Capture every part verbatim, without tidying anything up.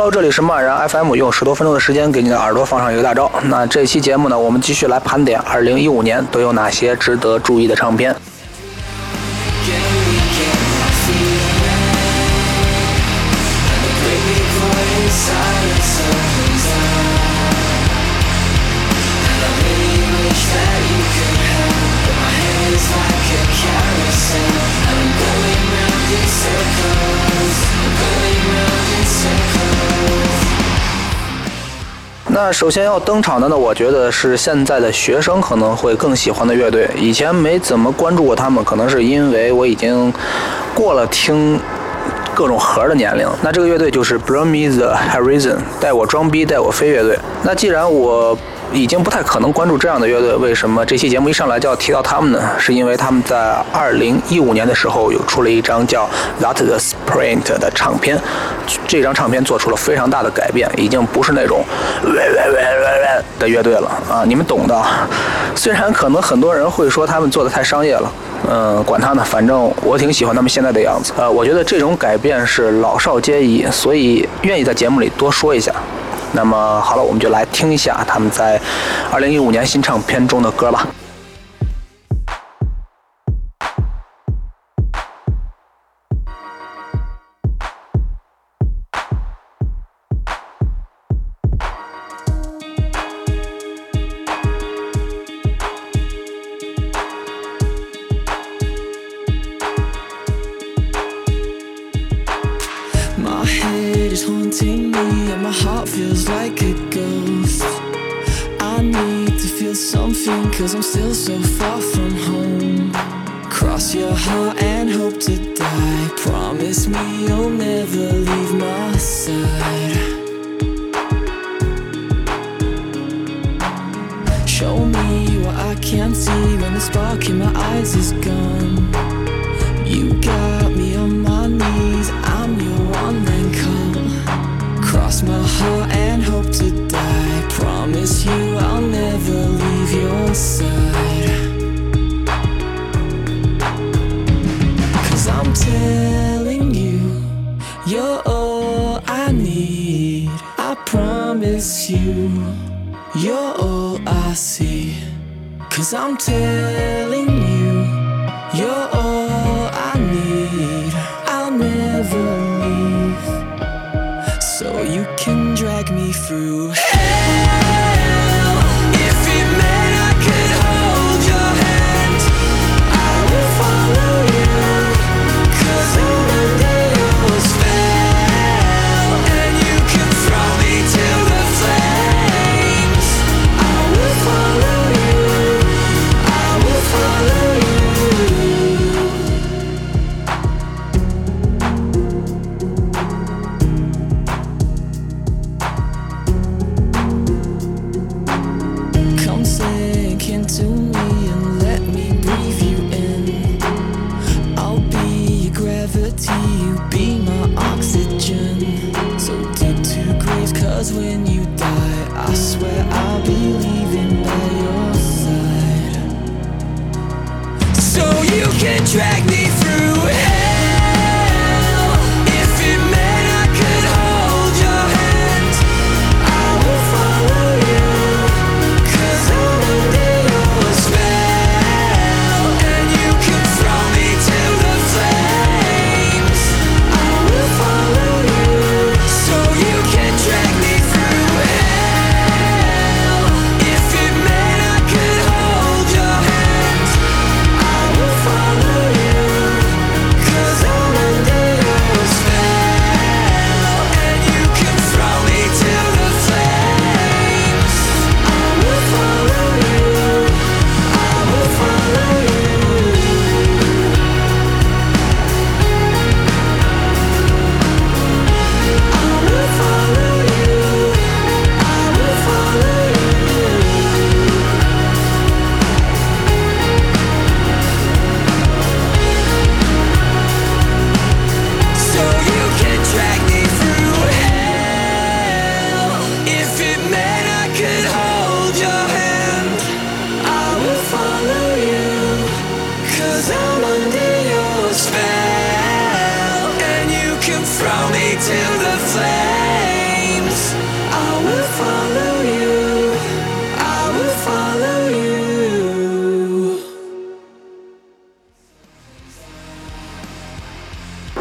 Hello， 这里是漫然 F M， 用十多分钟的时间给你的耳朵放上一个大招。那这期节目呢，我们继续来盘点二零一五年都有哪些值得注意的唱片。那首先要登场的呢，我觉得是现在的学生可能会更喜欢的乐队。以前没怎么关注过他们，可能是因为我已经过了听各种盒的年龄。那这个乐队就是 Bring Me the Horizon， 带我装逼带我飞乐队。那既然我已经不太可能关注这样的乐队，为什么这期节目一上来就要提到他们呢？是因为他们在二零一五年的时候有出了一张叫 That the Sprint 的唱片，这张唱片做出了非常大的改变，已经不是那种喂喂喂喂喂的乐队了啊，你们懂的。虽然可能很多人会说他们做的太商业了，嗯，管他呢，反正我挺喜欢他们现在的样子。呃，我觉得这种改变是老少皆宜，所以愿意在节目里多说一下。那么好了，我们就来听一下他们在二零一五年新唱片中的歌吧。 My heart feels like a ghost. I need to feel something, cause I'm still so far from home. Cross your heart and hope to die. Promise me you'll never leave my side. Show me what I can't see when the spark in my eyes is gone. You got me on my knees, I'm your one and call.Cross my heart and hope to die. Promise you I'll never leave your side. Cause I'm telling you, you're all I need. I promise you, you're all I see. Cause I'm telling you, you're all I need. I'll never leave.So you can drag me through hell. If it meant I could hold your hand, I will follow you, cause I'm under your spell. And you can throw me to the flames, I will follow you, I will follow you. To me and let me breathe you in. I'll be your gravity, you be my oxygen. So dig two graves, cause when you die, I swear I'll be leaving by your side. So you can drag me through hell. If it meant I could hold your hand, I will follow you, cause I'm under.Spell, and you can throw me to the flames, I will follow you, so you can drag me through hell. If it meant I could hold your hand, I will follow you, cause I'm under your spell. And you can throw me to the flames, I will follow you.I will follow you. I will follow you. I will follow you. So you can drag me through hell. If it meant I could hold your hand, I will follow you, cause I'm under your spell. And you can throw me to the flames,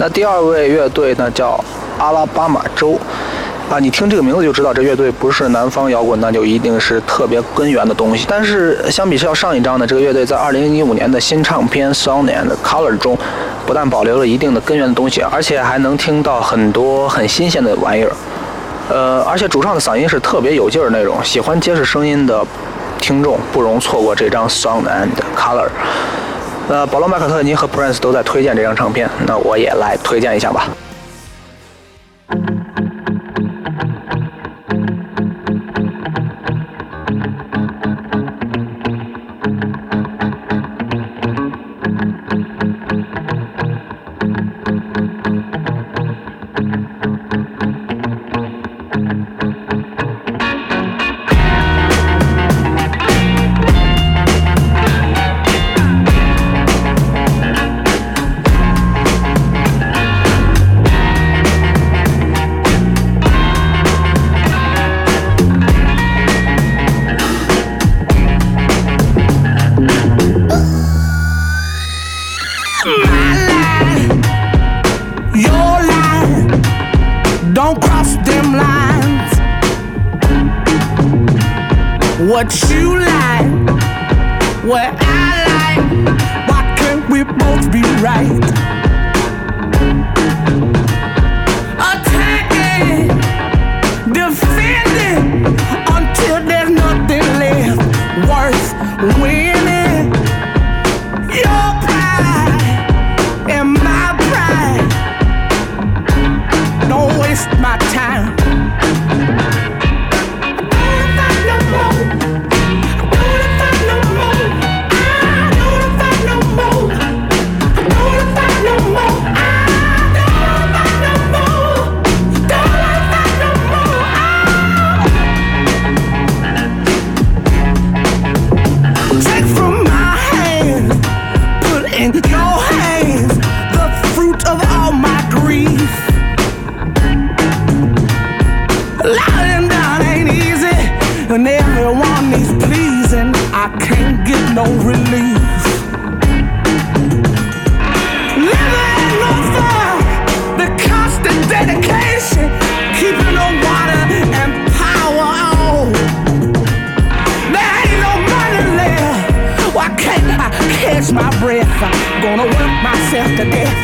那第二位乐队呢叫阿拉巴马州。啊，你听这个名字就知道这乐队不是南方摇滚，那就一定是特别根源的东西。但是相比较上一张呢，这个乐队在二零一五年的新唱片《Sound and Color》中，不但保留了一定的根源的东西，而且还能听到很多很新鲜的玩意儿。呃，而且主唱的嗓音是特别有劲儿那种，喜欢结实声音的听众不容错过这张《Sound and Color》。呃，保罗·麦卡特尼和 Prince 都在推荐这张唱片，那我也来推荐一下吧。 What you like, what I like, why can't we both be right? Attacking, defending, until there's nothing left worth winning. Your pride and my pride, don't waste my time. And everyone needs pleasing, I can't get no relief. Living no fun, the constant dedication, keeping the water and power on. There ain't no money left, why can't I catch my breath? I'm gonna work myself to death.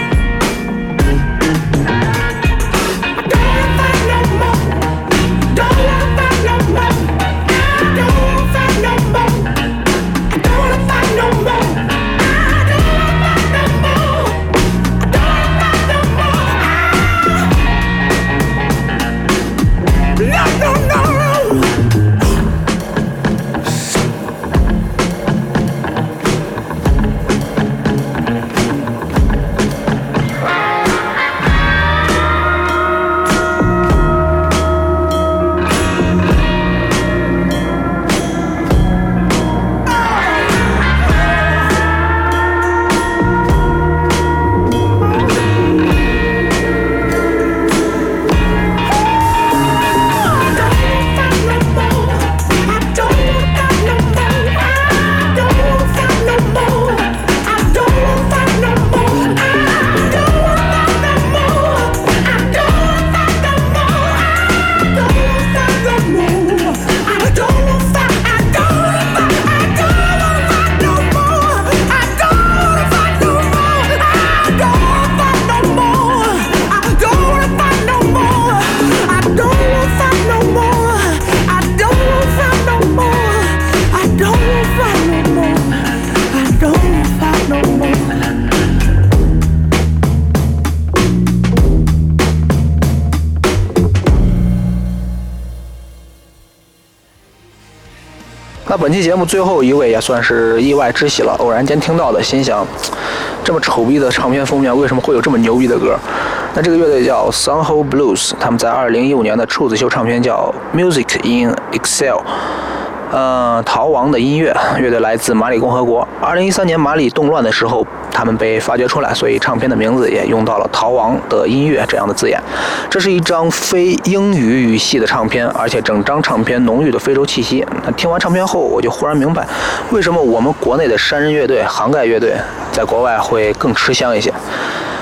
那本期节目最后一位也算是意外之喜了，偶然间听到的，心想这么丑逼的唱片封面为什么会有这么牛逼的歌？那这个乐队叫 Soho Blues， 他们在二零一五年的处子秀唱片叫 Music in Excel， 呃，逃亡的音乐。乐队来自马里共和国。二零一三年马里动乱的时候，他们被发掘出来，所以唱片的名字也用到了逃亡的音乐这样的字眼。这是一张非英语语系的唱片，而且整张唱片浓郁的非洲气息。那听完唱片后，我就忽然明白，为什么我们国内的山人乐队、杭盖乐队在国外会更吃香一些。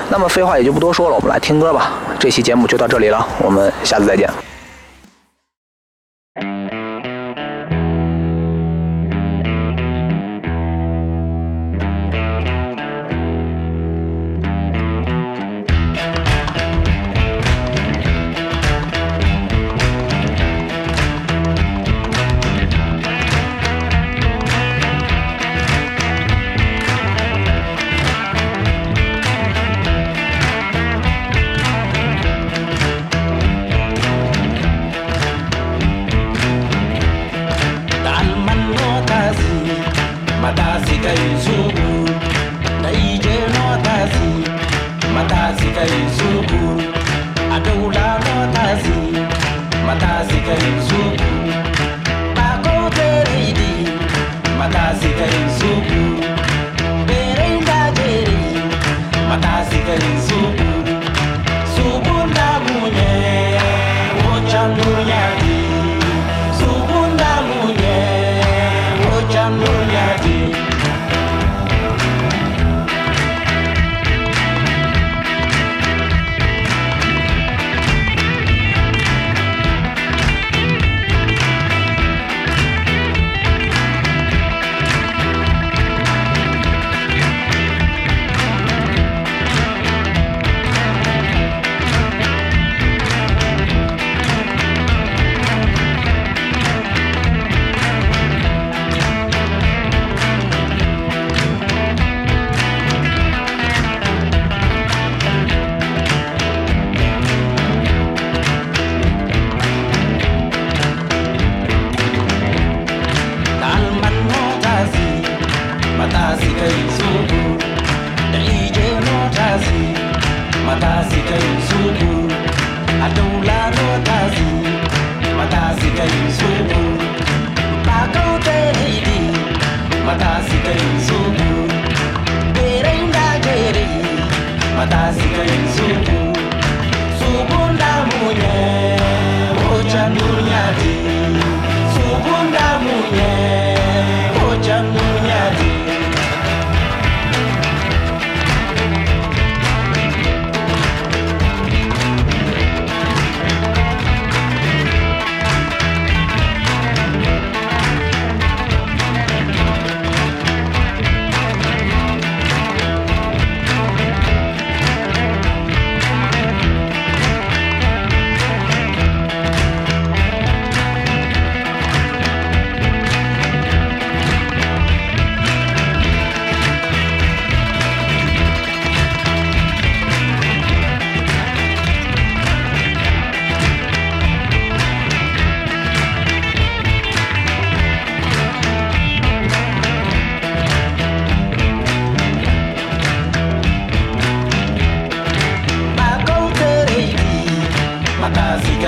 那么废话也就不多说了，我们来听歌吧。这期节目就到这里了，我们下次再见。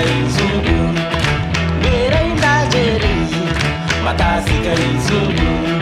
Matasi kai zubu